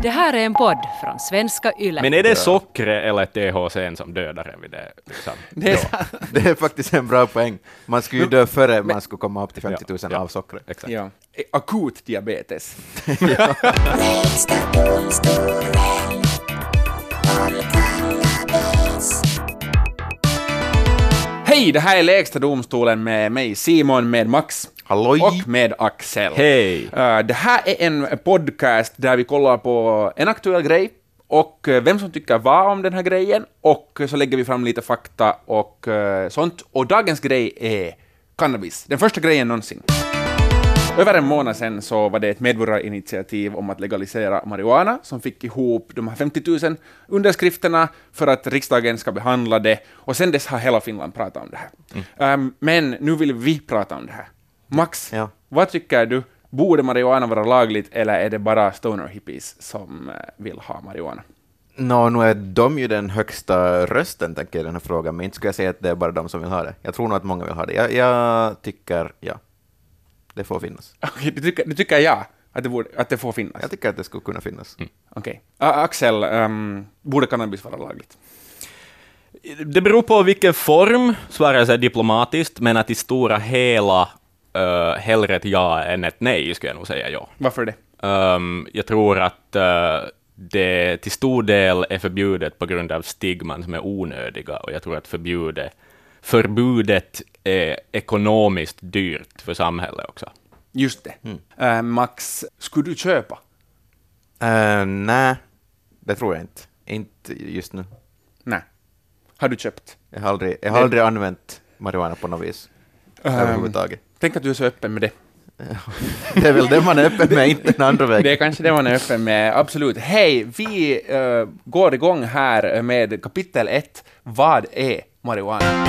Det här är en podd från Svenska Yle. Men är det sockret eller THC som dödar en vid det? Liksom? Det är faktiskt en bra poäng. Man skulle ju dö före man skulle komma upp till 50 000 av sockret. Exakt. Ja. Akut diabetes. Hej, det här är Lägsta domstolen med mig Simon, med Max Halloj. och med Axel. Hej! Det här är en podcast där vi kollar på en aktuell grej och vem som tycker vad om den här grejen, och så lägger vi fram lite fakta och sånt. Och dagens grej är cannabis, den första grejen någonsin. Över en månad sedan så var det ett medborgarinitiativ om att legalisera marijuana som fick ihop de här 50 000 underskrifterna för att riksdagen ska behandla det. Och sen dess har hela Finland pratat om det här. Men nu vill vi prata om det här. Max, vad tycker du? Borde marijuana vara lagligt eller är det bara stoner hippies som vill ha marijuana? Nu är de ju den högsta rösten, tänker jag, i den här frågan, men inte skulle jag säga att det är bara de som vill ha det. Jag tror nog att många vill ha det. Jag tycker, det får finnas. Okay, du tycker att det får finnas? Jag tycker att det skulle kunna finnas. Okej. Axel, borde cannabis vara lagligt? Det beror på vilken form, svarar jag diplomatiskt, men att i stora hela hellre ett ja än ett nej, skulle jag nog säga ja. Varför det? Jag tror att det till stor del är förbjudet på grund av stigman som är onödiga, och jag tror att förbudet är ekonomiskt dyrt för samhället också. Just det. Max, skulle du köpa? Nej, det tror jag inte. Inte just nu. Nej. Har du köpt? Jag har aldrig använt marijuana på något vis överhuvudtaget. Tänk att du är så öppen med det. Det är väl det man är öppen med, inte den andra vägen. Det är kanske det man är öppen med, absolut. Hej, vi går igång här med kapitel 1. Vad är marijuana?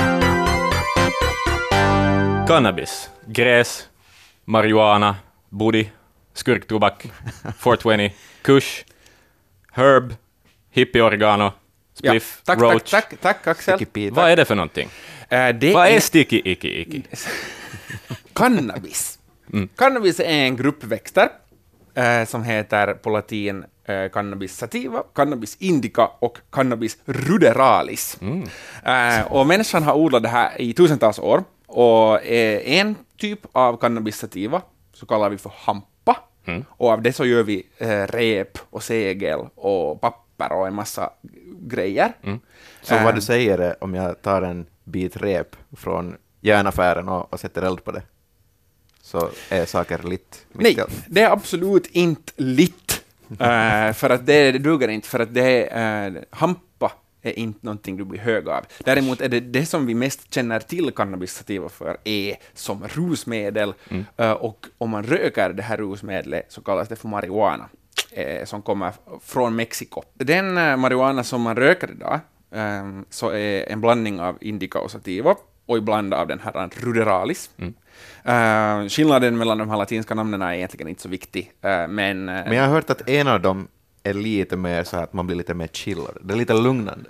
Cannabis, gräs, marijuana, booty, skurktobak, 420, kush, herb, hippie-oregano, spliff, roach. Tack Axel. Vad är det för någonting? Vad är sticky icky? Cannabis. Cannabis är en grupp växter som heter på latin cannabis sativa, cannabis indica och cannabis ruderalis. Och människan har odlat det här i tusentals år, och en typ av cannabis sativa så kallar vi för hampa, och av det så gör vi rep och segel och papper och en massa grejer. Så vad du säger är, om jag tar en bit rep från järnaffären och sätter eld på det, så är saker litt? Nej, det är absolut inte litt. För att det duger inte, för att hampa är inte någonting du blir hög av. Däremot är det som vi mest känner till cannabis sativa för är som rusmedel, och om man röker det här rusmedlet så kallas det för marijuana, som kommer från Mexiko. Den marijuana som man röker idag så är en blandning av indica och sativa, och ibland av den här ruderalis. Skillnaden mellan de här latinska namnen är egentligen inte så viktig. Men jag har hört att en av dem är lite mer så att man blir lite mer chillad. Det är lite lugnande.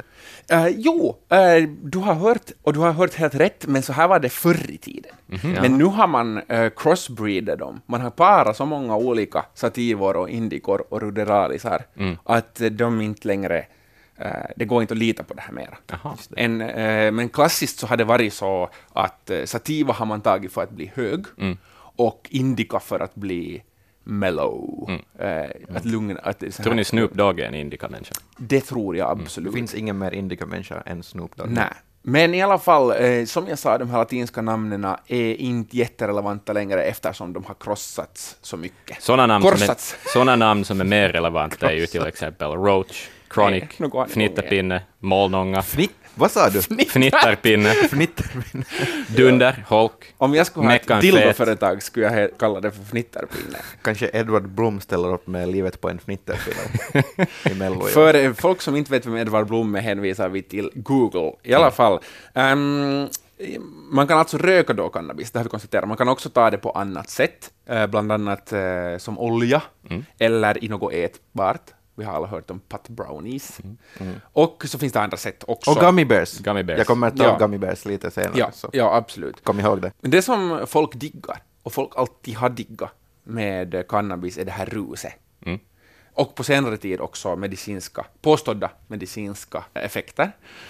Du har hört helt rätt, men så här var det förr i tiden. Men nu har man crossbreedat dem. Man har parat så många olika sativor och indikor och ruderalisar att de inte längre... det går inte att lita på det här mer. Men klassiskt så har det varit så att sativa har man tagit för att bli hög, och indica för att bli mellow. Att lugna. Tror ni Snoop Dogg är en indica-människa? Det tror jag absolut. Det finns ingen mer indica-människa än Snoop Dogg. Nej. Men i alla fall, som jag sa, de här latinska namnen är inte jätterelevanta längre eftersom de har krossats så mycket. Sådana namn som är mer relevanta är ju till exempel Roach, Chronic, Fnitterpinne, Målnånga. Vad sa du? Fnitterpinne. Dunder, Holk. Om jag skulle ha ett dildoföretag skulle jag kalla det för Fnitterpinne. Kanske Edvard Blom ställer upp med livet på en fnitterpinne i Mello. För folk som inte vet vem Edvard Blom är hänvisar vi till Google. I alla fall. Man kan alltså röka då cannabis, det har vi konstaterat. Man kan också ta det på annat sätt, bland annat som olja eller i något ätbart. Vi har alla hört om pot brownies. Och så finns det andra sätt också. Och gummy bears. Gummy Jag kommer att ta gummy bears lite senare. Ja, absolut. Kom ihåg det. Det som folk diggar, och folk alltid har diggat med cannabis, är det här ruset. och på senare tid också påstådda medicinska effekter.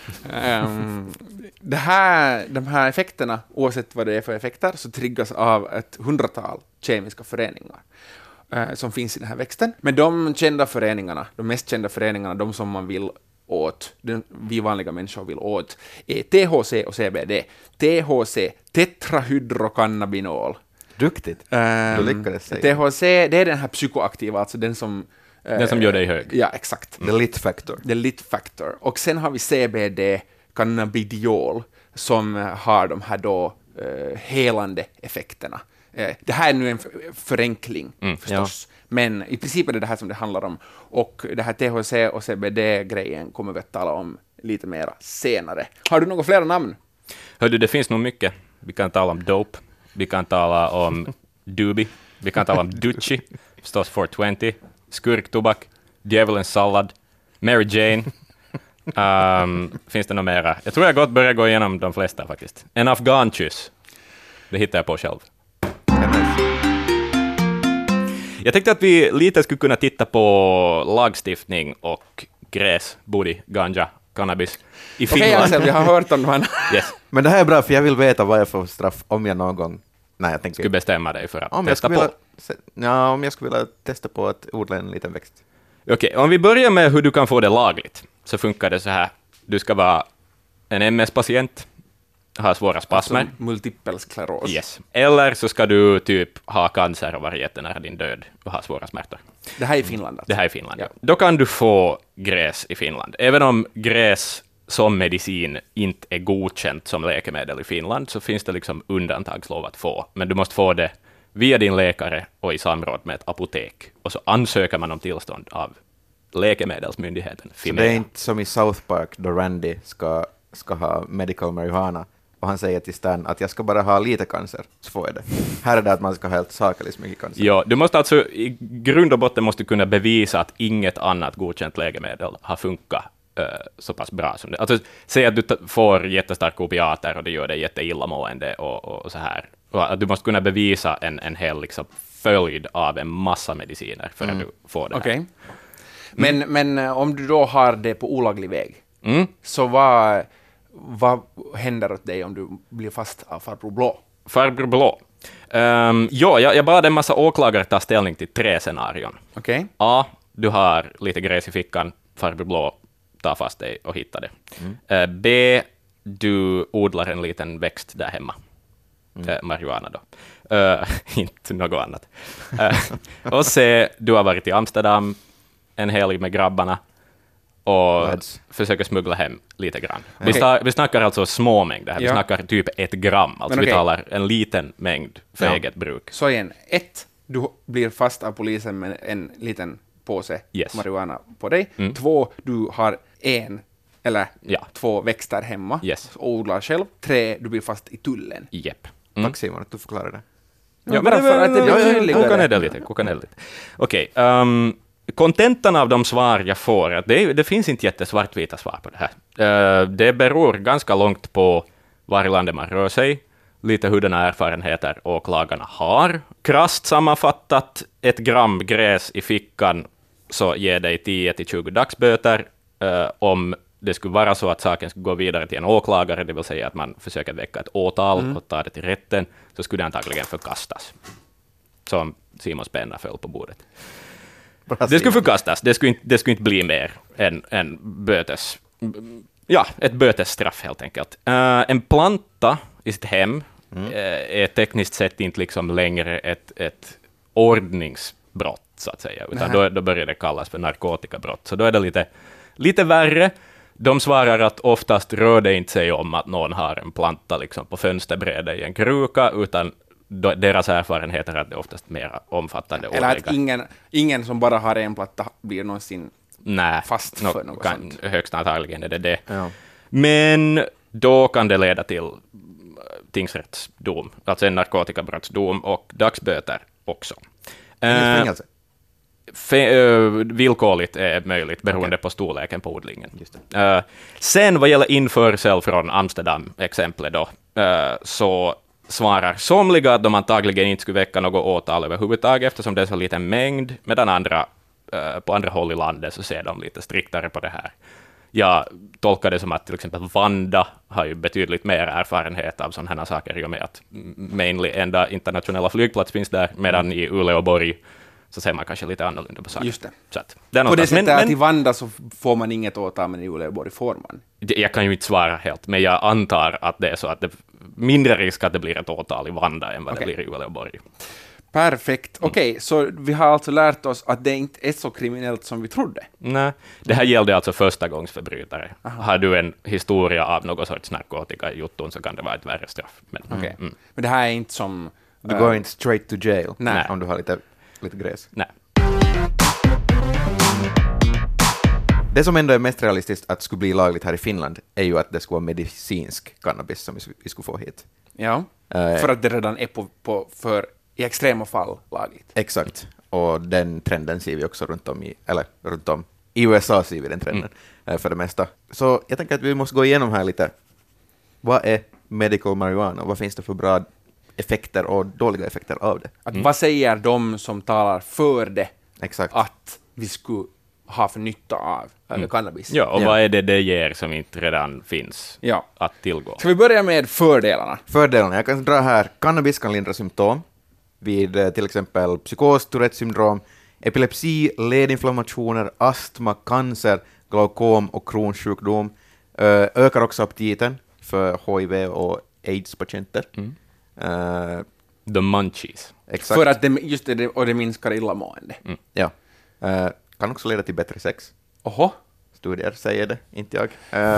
De här effekterna, oavsett vad det är för effekter, så triggas av ett 100-tal kemiska föreningar som finns i den här växten. Men de mest kända föreningarna, de som man vill åt, vi vanliga människor vill åt, är THC och CBD. THC, tetrahydrocannabinol. Duktigt. Du lyckades säga. THC, det är den här psykoaktiva, alltså den som gör dig hög. Ja, exakt. The lit factor. The lit factor. Och sen har vi CBD, cannabidiol, som har de här då helande effekterna. Det här är nu en förenkling förstås, men i princip är det här som det handlar om. Och det här THC och CBD-grejen kommer vi att tala om lite mer senare. Har du några flera namn? Hördu, det finns nog mycket. Vi kan tala om dope, vi kan tala om doobie, vi kan tala om Dutchie, förstås 420, skurktobak, djävulens sallad, Mary Jane. Finns det något mera? Jag tror jag gott börjar gå igenom de flesta faktiskt. En afghankyss, det hittar jag på själv. Jag tänkte att vi lite skulle kunna titta på lagstiftning och gräs, booty, ganja, cannabis i Finland. Okej, Axel, vi har hört om de här. Yes. Men det här är bra, för jag vill veta vad jag får straff om jag någon gång... Nej, jag tänker... Skulle bestämma dig för att om testa jag på. om jag skulle vilja testa på att odla en liten växt. Okej, om vi börjar med hur du kan få det lagligt, så funkar det så här. Du ska vara en MS-patient, ha svåra spasmer. Alltså, multipel skleros. Yes. Eller så ska du typ ha cancer och vara jättenära din död och ha svåra smärtor. Det här är i Finland alltså. Det här är Finland, ja. Då kan du få gräs i Finland. Även om gräs som medicin inte är godkänt som läkemedel i Finland, så finns det liksom undantagslov att få. Men du måste få det via din läkare och i samråd med ett apotek. Och så ansöker man om tillstånd av läkemedelsmyndigheten. Så det är inte som i South Park då Randy ska ha medical marijuana och han säger till Stan att jag ska bara ha lite cancer, så får jag det. Här är det att man ska ha helt sakeligt mycket cancer. Ja, du måste alltså i grund och botten måste kunna bevisa att inget annat godkänt läkemedel har funkat så pass bra som det. Alltså, säg att du får jättestarka opiater och det gör dig jätteillamående och så här. Och att du måste kunna bevisa en hel liksom, följd av en massa mediciner för att du får det här. Okej. Men om du då har det på olaglig väg, så vad händer åt dig om du blir fast av farbror Blå? Farbror Blå. Jag bad en massa åklagare ta ställning till 3 scenarion. Okej. A. Du har lite gräs i fickan, farbror Blå tar fast dig och hittar det. B. Du odlar en liten växt där hemma. Marijuana då. Inte något annat. Och C. Du har varit i Amsterdam en helg med grabbarna och försöker smuggla hem lite grann. Vi snackar alltså små mängder här. Vi snackar typ 1 gram. Alltså vi talar en liten mängd för eget bruk. Så igen, 1. Du blir fast av polisen med en liten påse marijuana på dig. 2. Du har 1 eller 2 växter hemma och odlar själv. 3. Du blir fast i tullen. Japp. Tack Simon att du förklarar det. Ja, men koka ner lite. Okej. Kontentan av de svar jag får, att det finns inte jättesvartvita svar på det här. Det beror ganska långt på var i landet man rör sig, lite hurdana erfarenheter åklagarna har. Krasst sammanfattat, 1 gram gräs i fickan så ger dig 10-20 dagsböter. Om det skulle vara så att saken skulle gå vidare till en åklagare, det vill säga att man försöker väcka ett åtal och ta det till rätten, så skulle det antagligen förkastas. Som Simons penna föll på bordet. Det skulle förkastas. Det skulle inte bli mer än bötes. Ja, ett bötesstraff helt enkelt. En planta i sitt hem är tekniskt sett inte liksom längre ett ordningsbrott, så att säga. Utan då börjar det kallas för narkotikabrott. Så då är det lite värre. De svarar att oftast rör det inte sig om att någon har en planta liksom på fönsterbrädet i en kruka, utan deras erfarenheter är att det oftast mer omfattande. Eller att ingen som bara har en platta blir någonsin fast för något sånt. Högst antagligen är det. Ja. Men då kan det leda till tingsrättsdom, alltså en narkotikabrottsdom och dagsböter också. Villkorligt är möjligt beroende på storleken på odlingen. Just det. Sen vad gäller införsel från Amsterdam-exemplet då, så svarar somliga att de antagligen inte skulle väcka något åtal överhuvudtaget eftersom det är så liten mängd, medan andra på andra håll i landet så ser de lite striktare på det här. Jag tolkar det som att till exempel Vanda har ju betydligt mer erfarenhet av sådana här saker i och med att mainly enda internationella flygplats finns där, medan i Uleåborg så ser man kanske lite annorlunda på saker. Just det. Så att, det är På det något, sättet att i Vanda så får man inget åtal, men i Uleåborg får man. jag kan ju inte svara helt, men jag antar att det är så att det är mindre risk att det blir ett åtal i Vanda än vad det blir i Uleåborg. Perfekt. Okej, så vi har alltså lärt oss att det inte är så kriminellt som vi trodde. Nej, det här gällde alltså förstagångsförbrytare. Har du en historia av någon sorts narkotika i jutton så kan det vara ett värre straff. Men, Men det här är inte som... Du går inte straight to jail Nej. om du har lite gräs. nej. Det som ändå är mest realistiskt att skulle bli lagligt här i Finland är ju att det skulle vara medicinsk cannabis som vi skulle få hit. Ja, för att det redan är för i extrema fall lagligt. Exakt, och den trenden ser vi också runt om i USA ser vi den trenden för det mesta. Så jag tänker att vi måste gå igenom här lite. Vad är medical marijuana? Vad finns det för bra effekter och dåliga effekter av det? Vad säger de som talar för det Exakt. att vi skulle ha för nytta av cannabis? Ja, och vad är det ger som inte redan finns Ja. att tillgå? Ska vi börja med fördelarna? Fördelarna, jag kan dra här. Cannabis kan lindra symptom vid till exempel psykos, Tourettes syndrom, epilepsi, ledinflammationer, astma, cancer, glaukom och Crohns sjukdom. Ökar också aptiten för HIV och AIDS-patienter. The munchies. Exakt. För att det minskar illamående. Ja. Kan också leda till bättre sex. Oho. Studier säger det, inte jag.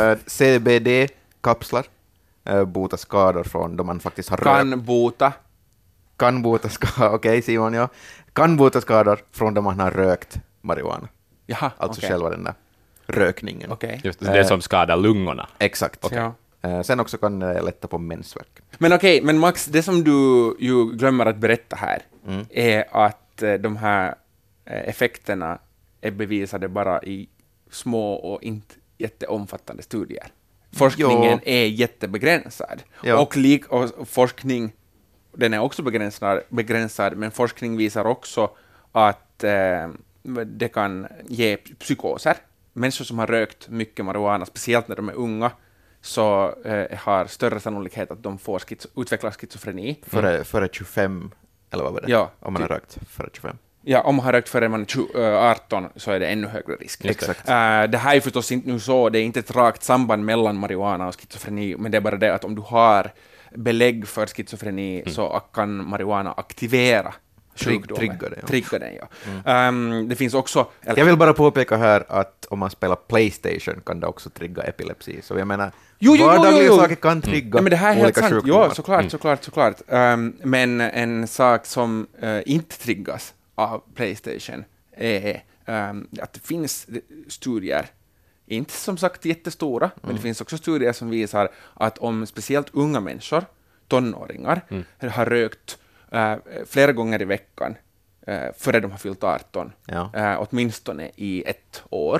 CBD-kapslar botar skador från då man faktiskt har Kan bota. Kan bota skador, okej Simon, ja. Kan bota skador från då man har rökt marijuana. Jaha, Alltså okej. själva den där rökningen. Okej. Just det som skadar lungorna. Exakt. Ja. Sen också kan det lätta på mensvärk. Men Max, det som du ju glömmer att berätta här är att de här effekterna är bevisade bara i små och inte jätteomfattande studier. Forskningen är jättebegränsad. Ja. Och forskning, den är också begränsad, men forskning visar också att det kan ge psykoser. Människor som har rökt mycket marijuana, speciellt när de är unga, så har större sannolikhet att de får utveckla schizofreni. Före 25, eller vad var det? Ja, om man har rökt före 25. Ja, om man har rökt före man är 18 så är det ännu högre risk. Exakt. Det här är förstås inte nu så, det är inte ett rakt samband mellan marijuana och schizofreni, men det är bara det att om du har belägg för schizofreni så kan marijuana aktivera sjukdomen. Trigga den, ja. Det finns också... Jag vill bara påpeka här att om man spelar PlayStation kan det också trigga epilepsi. Så jag menar, vardagliga saker kan trigga men det här är helt olika sant. sjukdomar. Ja, såklart. Men en sak som inte triggas av PlayStation är att det finns studier, inte som sagt jättestora, men det finns också studier som visar att om speciellt unga människor, tonåringar, har rökt flera gånger i veckan före de har fyllt 18, åtminstone i 1 år,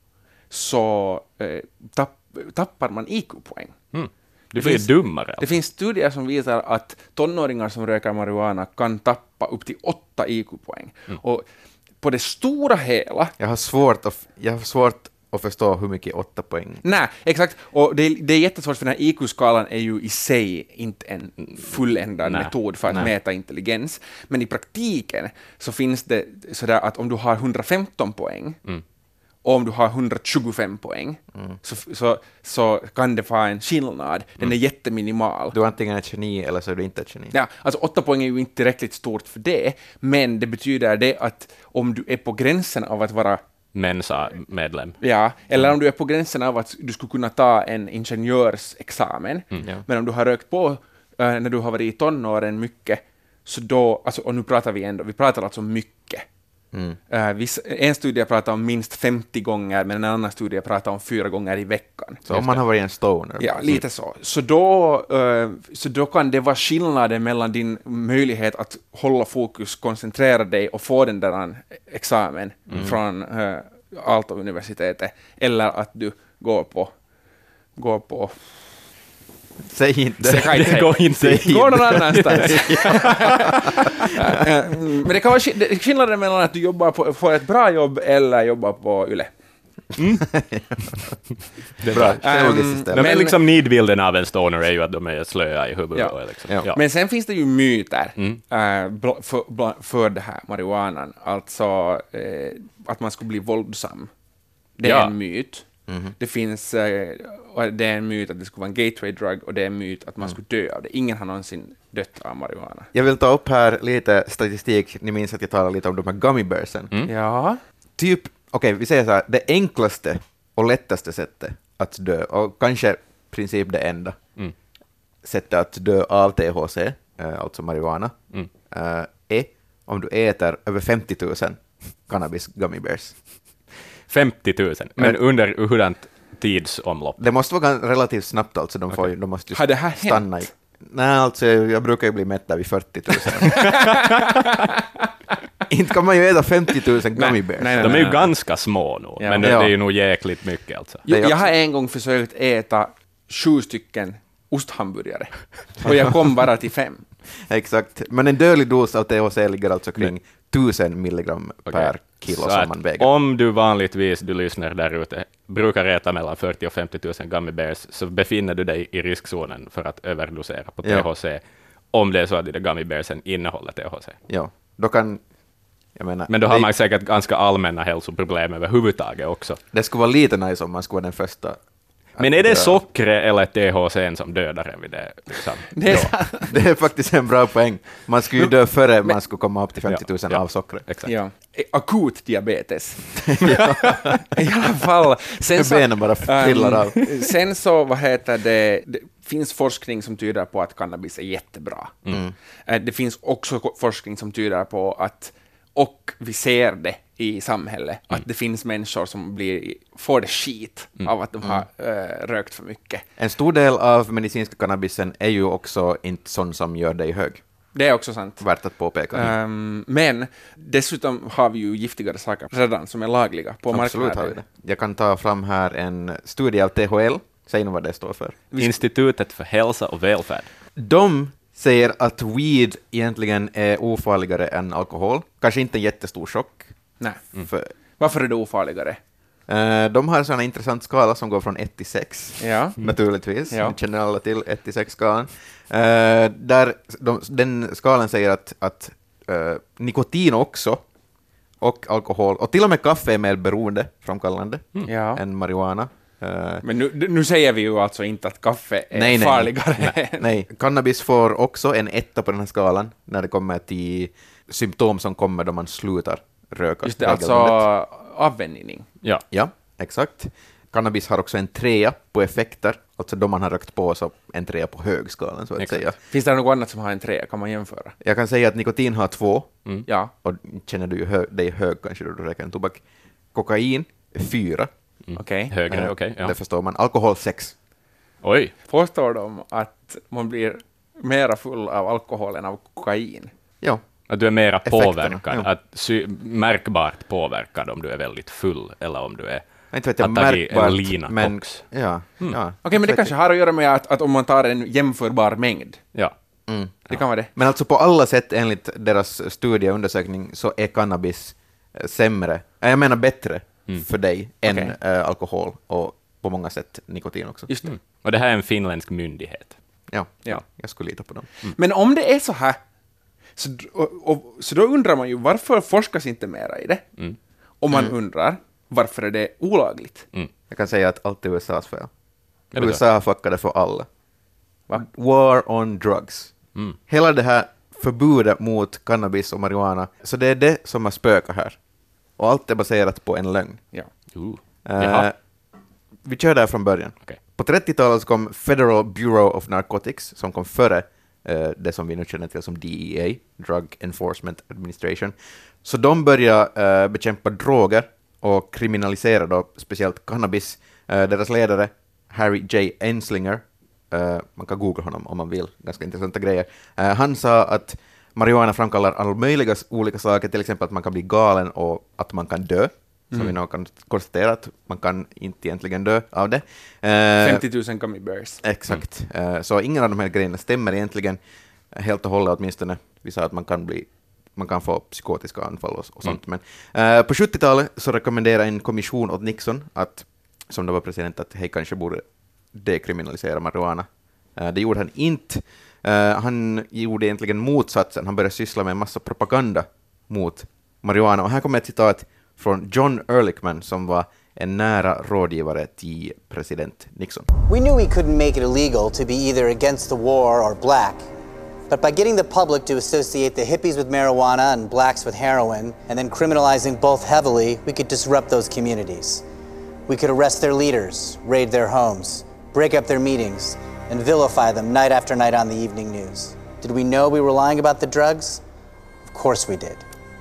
så tappar man IQ-poäng. Du blir dummare. Det finns studier som visar att tonåringar som röker marijuana kan tappa upp till 8 IQ-poäng. Och på det stora hela... Jag har svårt att förstå hur mycket 8 poäng. Nej, exakt. Och det är jättesvårt, för den här IQ-skalan är ju i sig inte en fulländad metod för att mäta intelligens. Men i praktiken så finns det sådär att om du har 115 poäng och om du har 125 poäng så kan det vara en skillnad. Den är jätteminimal. Du är antingen ett geni eller så är du inte ett geni. Ja, alltså 8 poäng är ju inte tillräckligt stort för det, men det betyder det att om du är på gränsen av att vara Mensa-medlem. Ja, eller om du är på gränsen av att du skulle kunna ta en ingenjörsexamen, men om du har rökt på när du har varit i tonåren mycket, så då, alltså, och nu pratar vi pratar alltså mycket. En studie pratar om minst 50 gånger, men en annan studie pratar om 4 gånger i veckan. Så om man har varit en stoner. Ja, lite så. Så då kan det vara skillnaden mellan din möjlighet att hålla fokus, koncentrera dig och få den där examen från Aalto-universitetet, eller att du går på Säg inte. Det går inte. Gå någon annanstans. Men det kan vara skillnaden mellan att du jobbar på ett bra jobb eller jobbar på Yle. Det är Bra. bra. Självlogiskt system. Men liksom nidbilden av en stoner är ju att de är slöa i huvudet. Ja. Och liksom. Ja. Ja. Men sen finns det ju myter för det här marijuanan. Alltså att man skulle bli våldsam. Det är Ja. en myt. Det finns, och det är en myt att det skulle vara en gateway drug, och det är en myt att man skulle dö av det. Ingen har någonsin dött av marijuana. Jag vill ta upp här lite statistik. Ni minns att jag talade lite om de här gummy bearsen. Ja. Typ, okej, vi säger så här, det enklaste och lättaste sättet att dö, och kanske i princip det enda sättet att dö av THC, alltså marijuana, är om du äter över 50 000 cannabis gummy bears. 50 000, men under hurdant tidsomlopp? Det måste vara relativt snabbt, alltså de måste Har det här stanna hänt? Nej, alltså jag brukar ju bli mätt där vid 40 000. Inte kan man ju äta 50 000 gummy bears. Nej. De är ju ganska små nu, Ja. men det är ju nog jäkligt mycket alltså. Jag har en gång försökt äta 7 stycken osthamburgare, och jag kom bara till 5. Exakt, men en dödlig dos av THC ligger alltså kring 1000 milligram per kilo Så som att man väger. om du vanligtvis, du lyssnar där ute, brukar äta mellan 40 och 50 000 gummy bears, så befinner du dig i riskzonen för att överdosera på Ja. THC, om det är så att de där gummy bearsen innehåller THC. Ja, då kan... Jag menar, Men då har man säkert ganska allmänna hälsoproblem överhuvudtaget också. det skulle vara lite nice om man skulle vara den första. Men är det sockret eller THC som dödar en vid det? Liksom? Det är så. Det är faktiskt en bra poäng. Man skulle ju dö före man skulle komma upp till 50 000 Ja. av sockret. Exakt. Ja. Akut diabetes. I alla fall. Sen Benen bara trillar av. Sen så, det finns forskning som tyder på att cannabis är jättebra. Det finns också forskning som tyder på att, och vi ser det i samhället, att det finns människor som får det skit av att de har rökt för mycket. En stor del av medicinska cannabisen är ju också inte sån som gör dig hög. Det är också sant. Värt att påpeka. Men dessutom har vi ju giftigare saker redan som är lagliga på Absolut har marknaden. vi det. Jag kan ta fram här en studie av THL. Säg nu vad det står för. Institutet för hälsa och välfärd. De säger att weed egentligen är ofarligare än alkohol. Kanske inte en jättestor chock. Nej. För, Varför är det ofarligare? de har en sån här intressant skala som går från 1 till 6. Ja. Naturligtvis. Ja. Ni känner alla till 1 till 6-skalan. Där den skalan säger att nikotin också, och alkohol, och till och med kaffe är mer beroendeframkallande Ja. än marijuana. Men nu säger vi ju alltså inte att kaffe är farligare. Nej, cannabis får också en 1 på den här skalan när det kommer till symptom som kommer då man slutar röka. Just det, alltså regelbundet. avvänjning. Ja. Ja, exakt. Cannabis har också en 3 på effekter, alltså då man har rökt på, så en 3 på högskalan så att Exakt. säga. Finns det något annat som har en 3? Kan man jämföra? Jag kan säga att nikotin har 2, Ja. och känner du ju dig hög kanske då du röker en tobak. Kokain 4, Okej. Högre, okej. Ja. det förstår man. Alkohol 6. Oj, Påstår de att man blir mera full av alkohol än av kokain? Ja, att du är mera Effekterna, påverkad, ja. att märkbart påverkad om du är väldigt full, eller om du är inte vet jag har tagit en märkbart, lina men koks. ja. Okej, men det kanske har att göra med att om man tar en jämförbar mängd. Ja. Det kan vara det. Men alltså på alla sätt enligt deras studie och undersökning så är cannabis sämre, jag menar bättre för dig än Okej. alkohol, och på många sätt nikotin också. Just det. Och det här är en finländsk myndighet. Ja, Ja. jag skulle lita på dem. Men om det är så här, så då undrar man ju varför forskas inte mera i det? Och man undrar varför är det olagligt? Jag kan säga att allt är USAs fel. Är det så? USA fuckade för alla. Va? War on drugs. Hela det här förbudet mot cannabis och marijuana, så det är det som har spökat här. Och allt är baserat på en lögn. Ja. Jaha. Vi kör där från början. Okej. På 30-talet så kom Federal Bureau of Narcotics, som kom före det som vi nu känner till som DEA, Drug Enforcement Administration. Så de började bekämpa droger och kriminalisera då speciellt cannabis. Deras ledare, Harry J. Anslinger, man kan googla honom om man vill, ganska intressanta grejer. Han sa att marijuana framkallar alla möjliga olika saker, till exempel att man kan bli galen och att man kan dö. som vi nu kan konstatera att man kan inte egentligen dö av det. 50 000 gummy bears. Exakt. Så ingen av de här grejerna stämmer egentligen helt och hållet, åtminstone. Vi sa att man kan få psykotiska anfall och sånt. Men på 70-talet så rekommenderade en kommission åt Nixon, som då var president, att hej, kanske borde dekriminalisera marijuana. Det gjorde han inte. Han gjorde egentligen motsatsen. Han började syssla med en massa propaganda mot marijuana. Och här kommer ett citat från John Ehrlichman, som var en nära rådgivare till president Nixon. We knew we couldn't make it illegal to be either against the war or black. But by getting the public to associate the hippies with marijuana and blacks with heroin, and then criminalizing both heavily, we could disrupt those communities. We could arrest their leaders, raid their homes, break up their meetings, and vilify them night after night on the evening news. Did we know we were lying about the drugs? Of course we did.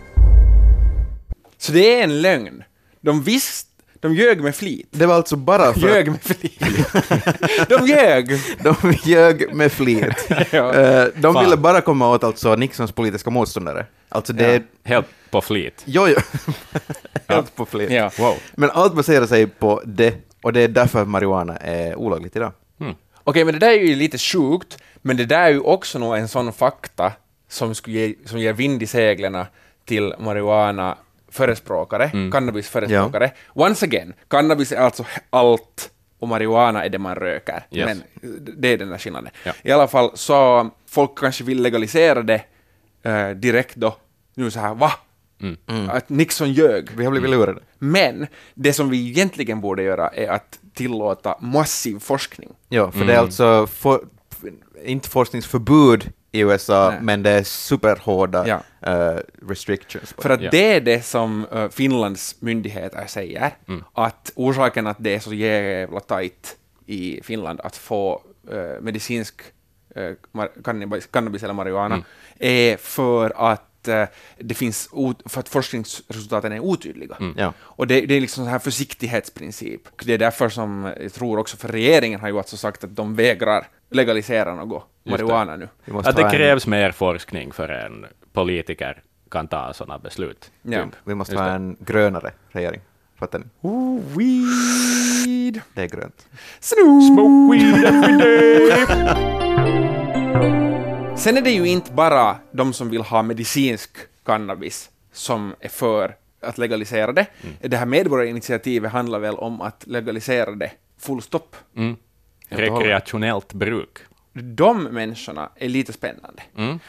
Så det är en lögn. De ljög med flit. Det var alltså bara för... Ljög med flit. De ljög. De ljög med flit. Ja. De ville bara komma åt alltså Nixons politiska motståndare. Alltså det är... Helt på flit. Jo. Helt på flit. Ja. Wow. Men allt baserar sig på det, och det är därför marijuana är olagligt idag. Okej, men det där är ju lite sjukt, men det där är ju också nog en sån fakta som ger vind i seglarna till marijuana-förespråkare, cannabis-förespråkare. Ja. Once again, cannabis är alltså allt och marijuana är det man röker. Yes. Men det är den där skillnaden. Ja. I alla fall så folk kanske vill legalisera det direkt då. Nu så här, va? Att Nixon ljög. Vi har blivit lurade. Men det som vi egentligen borde göra är att tillåta massiv forskning. Ja, för det är alltså inte forskningsförbud i USA, men det är superhårda restrictions. För att det är det som Finlands myndigheter säger, att orsaken att det är så jävla tajt i Finland att få medicinsk cannabis eller marijuana är för att det finns för att forskningsresultaten är otydliga. Ja. Och det är liksom så här försiktighetsprincip. Det är därför som jag tror också för regeringen har ju alltså sagt att de vägrar legalisera något marijuana nu. Att det krävs mer forskning för en politiker kan ta sådana beslut. Ja. Vi måste ha en grönare regering. Fattar ni? Weed! Det är grönt. Smoke weed every day! Sen är det ju inte bara de som vill ha medicinsk cannabis som är för att legalisera det. Det här medborgarinitiativet handlar väl om att legalisera det full stopp. Rekreationellt bruk. De människorna är lite spännande.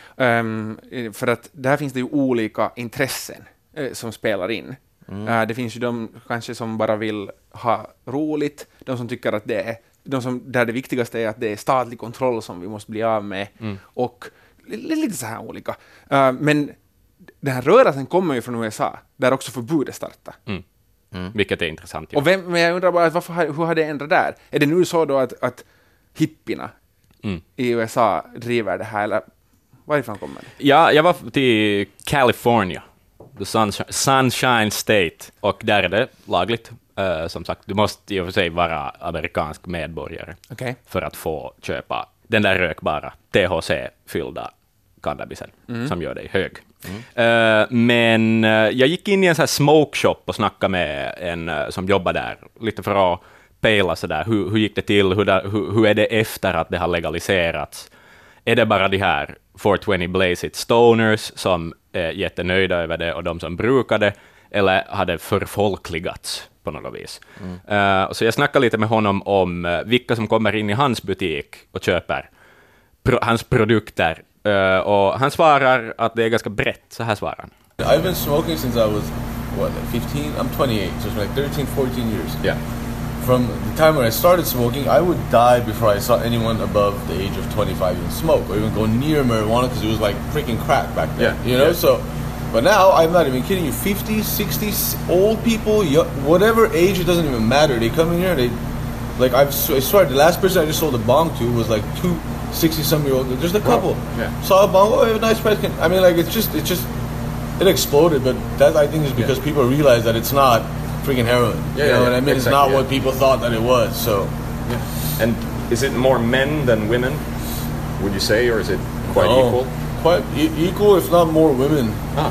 För att där finns det ju olika intressen som spelar in. Det finns ju de kanske som bara vill ha roligt, de som tycker att det är där det viktigaste är att det är statlig kontroll som vi måste bli av med, och lite så här olika. Men den här rörelsen kommer ju från USA, där också förbudet startar. Vilket är intressant. Ja. Och men jag undrar bara, hur har det ändrat där? Är det nu så då att hippierna i USA driver det här, eller varifrån kommer det? Ja, jag var till California, the Sunshine State, och där är det lagligt. Som sagt, du måste i och för sig vara amerikansk medborgare för att få köpa den där rökbara THC-fyllda cannabisen som gör dig hög. Men jag gick in i en sån här smoke shop och snackade med en som jobbar där, lite för att pejla sådär, hur gick det till, hur är det efter att det har legaliserats? Är det bara de här 420 Blaze It Stoners som är jättenöjda över det och de som brukar det, eller har det förfolkligats på något vis? Så jag snackade lite med honom om vilka som kommer in i hans butik och köper hans produkter, och han svarar att det är ganska brett. Så här svarar han. I've been smoking since I was, 15? I'm 28, so it's like 13, 14 years. Yeah. From the time when I started smoking, I would die before I saw anyone above the age of 25 even smoke or even go near marijuana, because it was like freaking crack back then. Yeah. You know, Yeah. so... But now, I'm not even kidding you, 50s, 60s, old people, whatever age, it doesn't even matter. They come in here and they... Like, I swear, the last person I just sold a bong to was like 2 60-some-year-old, just a couple. Yeah. Saw a bong, oh, I have a nice price. I mean, like, it exploded, but that, I think, is because people realize that it's not freaking heroin. You know what I mean? Exactly, it's not what people thought that it was, so... Yeah. And is it more men than women, would you say, or is it quite equal? Quite equal, if not more women.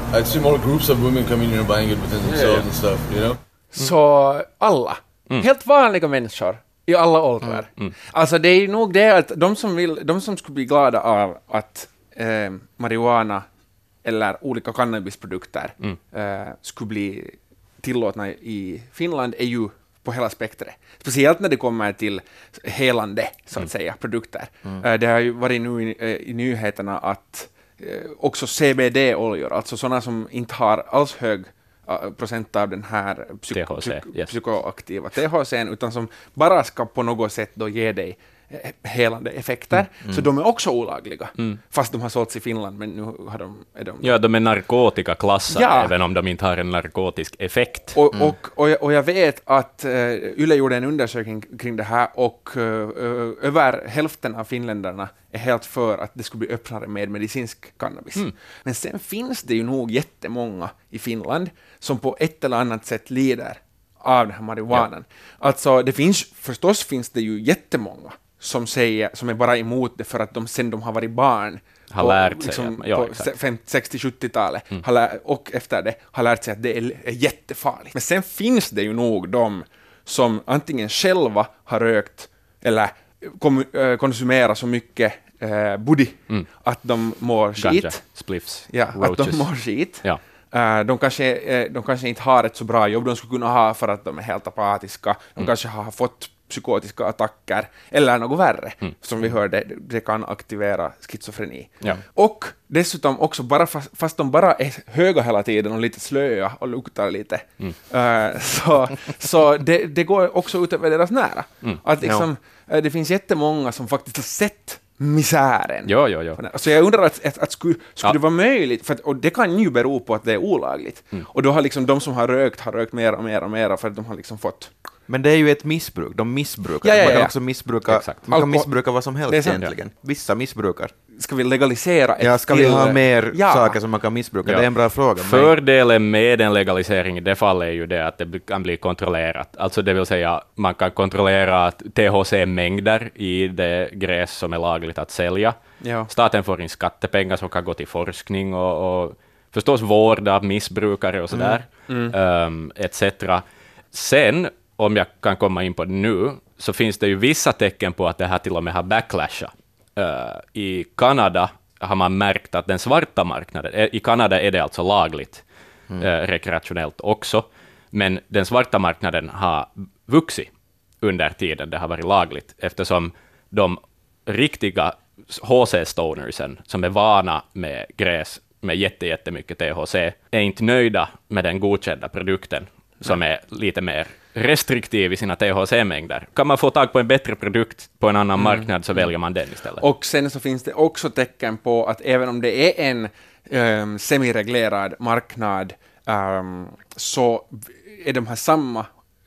I'd see more groups of women coming in and buying it within themselves and stuff, you know? Så alla, helt vanliga människor i alla åldrar. Alltså det är nog det att de som skulle bli glada av att marijuana eller olika cannabisprodukter skulle bli tillåtna i Finland är ju på hela spektret. Speciellt när det kommer till helande, så att säga, produkter. Det har ju varit nu i nyheterna att också CBD-oljor, alltså sådana som inte har alls hög procent av den här psykoaktiva THC:n, utan som bara ska på något sätt då ge dig helande effekter, så de är också olagliga, fast de har sålts i Finland, men nu har de... Ja, de är narkotikaklassade, även om de inte har en narkotisk effekt. Och jag vet att Yle gjorde en undersökning kring det här, och över hälften av finländarna är helt för att det skulle bli öppnare med medicinsk cannabis. Men sen finns det ju nog jättemånga i Finland som på ett eller annat sätt lider av den här marijuanan. Alltså finns det ju jättemånga som är bara emot det för att sen de har varit barn har lärt sig liksom, på 60-70-talet och efter det har lärt sig att det är jättefarligt. Men sen finns det ju nog de som antingen själva har rökt eller konsumerar så mycket buddy att de mår skit. Spliffs, att de mår skit. De kanske inte har ett så bra jobb de skulle kunna ha för att de är helt apatiska. De kanske har fått psykotiska attacker eller något värre. Som vi hörde, det kan aktivera schizofreni. Och dessutom också, fast de bara är höga hela tiden och lite slöa och luktar lite, så det går också ut över deras nära. Att liksom, det finns jättemånga som faktiskt har sett misären. Så jag undrar att skulle det vara möjligt, och det kan ju bero på att det är olagligt. Och då har liksom de som har rökt mer och mer för att de har liksom fått... Men det är ju ett missbruk. De missbrukar. Man kan också missbruka. Man kan missbruka vad som helst egentligen. Vissa missbrukar. Ska vi legalisera ska vi ha mer saker som man kan missbruka? Det är en bra fråga. Fördelen med en legalisering i det fallet är ju det att det kan bli kontrollerat. Alltså det vill säga, man kan kontrollera THC-mängder i det gräs som är lagligt att sälja. Staten får in skattepengar som kan gå till forskning och förstås vård av missbrukare och sådär, etc. Sen, om jag kan komma in på det nu, så finns det ju vissa tecken på att det här till och med har backlashat. I Kanada har man märkt att den svarta marknaden, i Kanada är det alltså lagligt rekreationellt också, men den svarta marknaden har vuxit under tiden det har varit lagligt, eftersom de riktiga HC-stonersen som är vana med gräs med jättemycket THC är inte nöjda med den godkända produkten som är lite mer restriktiv i sina THC-mängder. Kan man få tag på en bättre produkt på en annan marknad så väljer man den istället. Och sen så finns det också tecken på att även om det är en semireglerad marknad, så är de här samma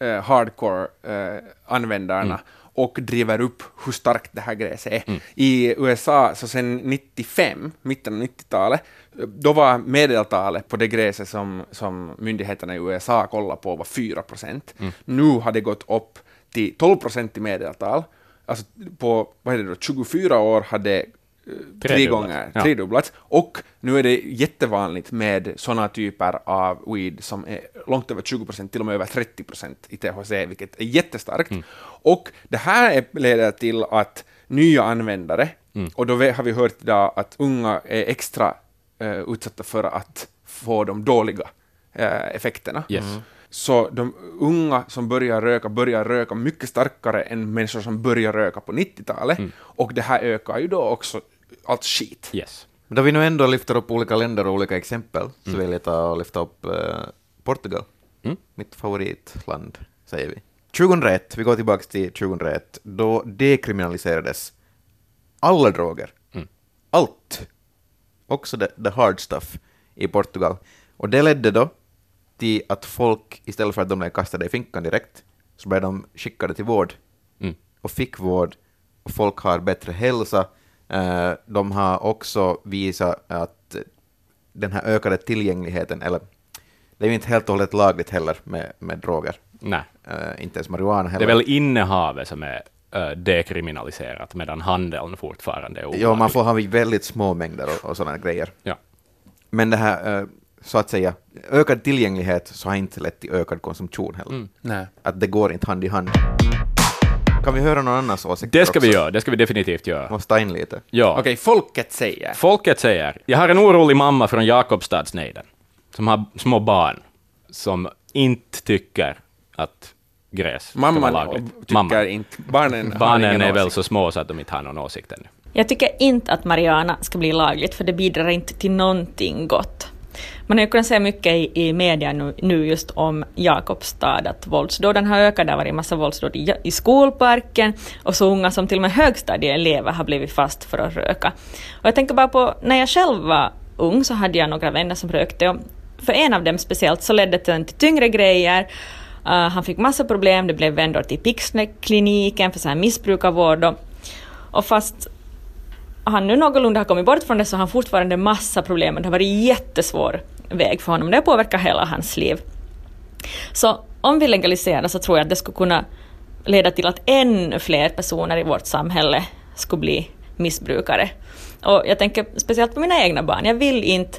hardcore-användarna och driver upp hur starkt det här gräset är. I USA, så sen 95, mitten av 90-talet, då var medeltalet på det gräset som myndigheterna i USA kollar på var 4%. Nu har det gått upp till 12% i medeltal. Alltså på 24 år hade tredubblats. Och nu är det jättevanligt med sådana typer av weed som är långt över 20%, till och med över 30% i THC, vilket är jättestarkt. Och det här leder till att nya användare, och då har vi hört idag att unga är extra utsatta för att få de dåliga effekterna. Så de unga som börjar röka mycket starkare än människor som börjar röka på 90-talet, och det här ökar ju då också allt skit. Men då vi nu ändå lyfter upp olika länder och olika exempel, så vill jag ta och lyfta upp Portugal. Mitt favoritland, säger vi. 2001, vi går tillbaka till 2001, då dekriminaliserades alla droger. Allt. Också the hard stuff i Portugal. Och det ledde då till att folk, istället för att de blev kastade i finkan direkt, så blev de skickade till vård. Och fick vård. Och folk har bättre hälsa. De har också visat att den här ökade tillgängligheten, eller det är ju inte helt och hållet lagligt heller med droger. Nej. Inte ens marijuana heller. Det är väl innehavet som är dekriminaliserat, medan handeln fortfarande är olaglig. Ja, man får ha väldigt små mängder och sådana grejer. Ja. Men det här så att säga, ökad tillgänglighet så har inte lett till ökad konsumtion heller. Nej. Att det går inte hand i hand. Kan vi höra någon annans åsikter Det ska också? vi göra, det ska vi definitivt göra. Måste ta in lite. Ja. Okej, folket säger. Folket säger, jag har en orolig mamma från Jakobstadsnejden som har små barn som inte tycker att gräs ska vara Mamman lagligt. tycker inte. Barnen har Barnen ingen är väl åsikt. så små så att de inte har någon åsikt ännu. Jag tycker inte att marijuana ska bli lagligt, för det bidrar inte till någonting gott. Man har ju kunnat se mycket i media nu just om Jakobstad, att våldsdåden har ökat. Det har varit en massa våldsdåd i skolparken, och så unga som till och med högstadieelever har blivit fast för att röka. Och jag tänker bara på, när jag själv var ung så hade jag några vänner som rökte, och för en av dem speciellt så ledde det till tyngre grejer. Han fick massa problem, det blev vändor till Pixne-kliniken för så här missbrukarvård, och fast han nu någorlunda har kommit bort från det så har han fortfarande massa problem. Det har varit en jättesvår väg för honom. Det påverkar hela hans liv. Så om vi legaliserar så tror jag att det skulle kunna leda till att ännu fler personer i vårt samhälle skulle bli missbrukare. Och jag tänker speciellt på mina egna barn. Jag vill inte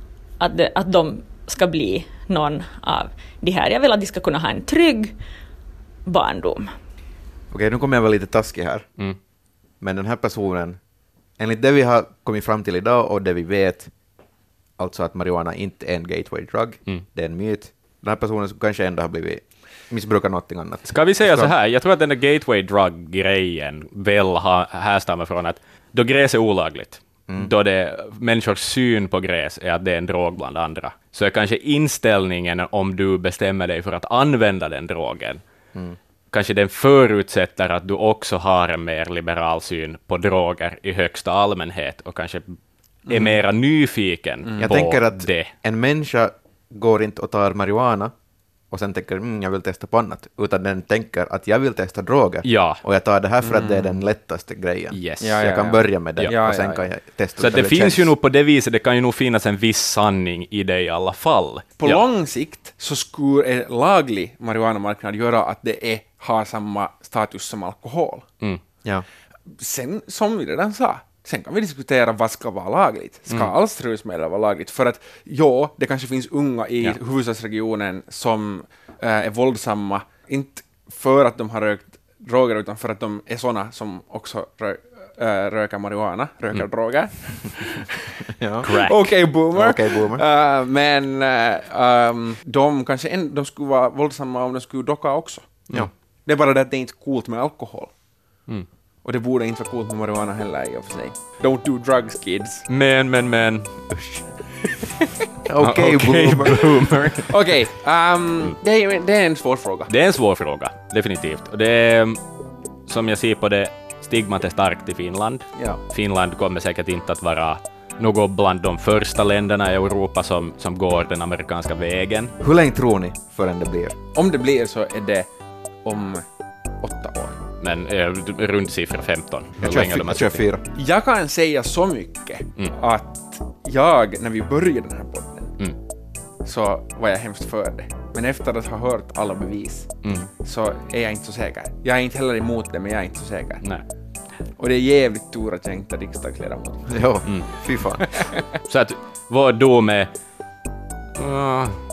att de ska bli någon av de här. Jag vill att de ska kunna ha en trygg barndom. Okej, nu kommer jag vara lite taskig här. Men den här personen, enligt det vi har kommit fram till idag och det vi vet, alltså att marijuana inte är en gateway drug, det är en myt. Den här personen kanske ändå har blivit missbrukar någonting annat. Ska vi säga så här, jag tror att den där gateway drug-grejen väl härstammar från att då gräs är olagligt, då människors syn på gräs är att det är en drog bland andra, så är kanske inställningen om du bestämmer dig för att använda den drogen, kanske den förutsätter att du också har en mer liberal syn på droger i högsta allmänhet och kanske är mera nyfiken Jag på tänker att det. en människa går inte och tar marijuana och sen tänker jag vill testa på annat, utan den tänker att jag vill testa droger. Ja. Och jag tar det här för att det är den lättaste grejen. Yes. Ja, Jag kan börja med det och sen kan jag testa. Så att det finns ju nog på det viset, det kan ju nog finnas en viss sanning i det i alla fall. På lång sikt så skulle en laglig marijuanamarknad göra att det har samma status som alkohol. Ja. Sen, som vi redan sa, sen kan vi diskutera vad ska vara lagligt. Ska alls rusmedel vara lagligt? För att det kanske finns unga i huvudstadsregionen som är våldsamma, inte för att de har rökt droger, utan för att de är såna som också röker marijuana, röker droger. Ja. Crack. Okej, boomer. Okej, boomer. Men de kanske de skulle vara våldsamma om de skulle docka också. Ja. Det är bara det att det är inte coolt med alkohol. Och det borde inte vara coolt med marijuana heller i och för sig. Don't do drugs, kids. Men. Okej, boomer. Okej, det är en svår fråga. Det är en svår fråga, definitivt. Och det är, som jag ser på det, stigmat är starkt i Finland. Ja. Finland kommer säkert inte att vara något bland de första länderna i Europa som går den amerikanska vägen. Hur länge tror ni förrän det blir? Om det blir så är det om 8 år. Men runt siffra 15. Jag kör 4. Jag kan säga så mycket att när vi började den här podden så var jag hemskt för det. Men efter att ha hört alla bevis så är jag inte så säker. Jag är inte heller emot det, men jag är inte så säker. Nej. Och det är jävligt tur att jag inte är riksdagsledamot. Jo, fy fan. Så att vår dom är